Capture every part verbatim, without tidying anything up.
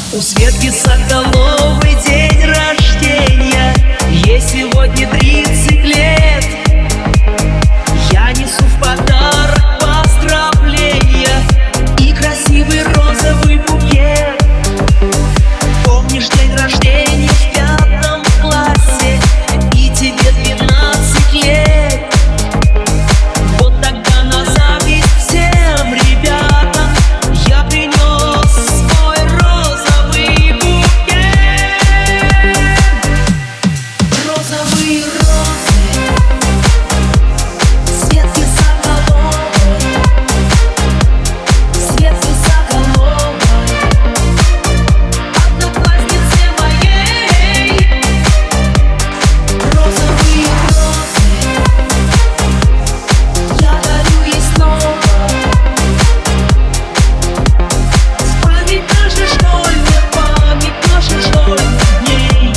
У Светки Соколовой день рождения, ей сегодня тридцать лет. Я несу в подарок поздравления и красивый розовый букет. Помнишь день рождения в пятом классе, и тебе двенадцать лет? Вот тогда на зависть всем ребятам я принес свой розовый букет. Розовые розы Светки Соколовой, Светки Соколовой, однокласснице моей. Розовые розы я дарю ей снова. Память наших школьных, память наших школьных дней.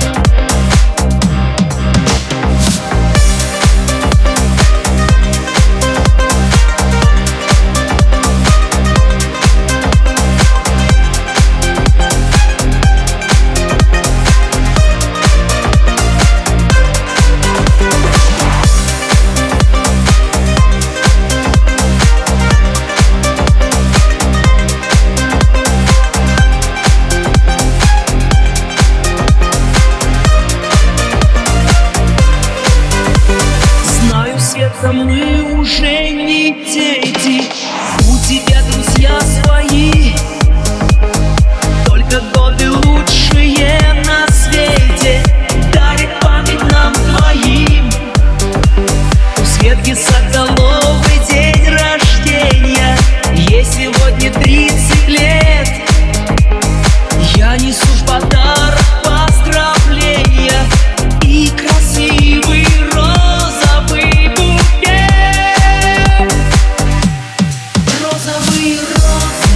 Знаю, Света, мы уже не дети, у тебя друзья свои, только годы лучшие на свете дарит память нам твоим. У Светки Соколовой день рождения, ей сегодня тридцать лет. Я несу в подарок поздравления и красивый розовый букет. Розовые розы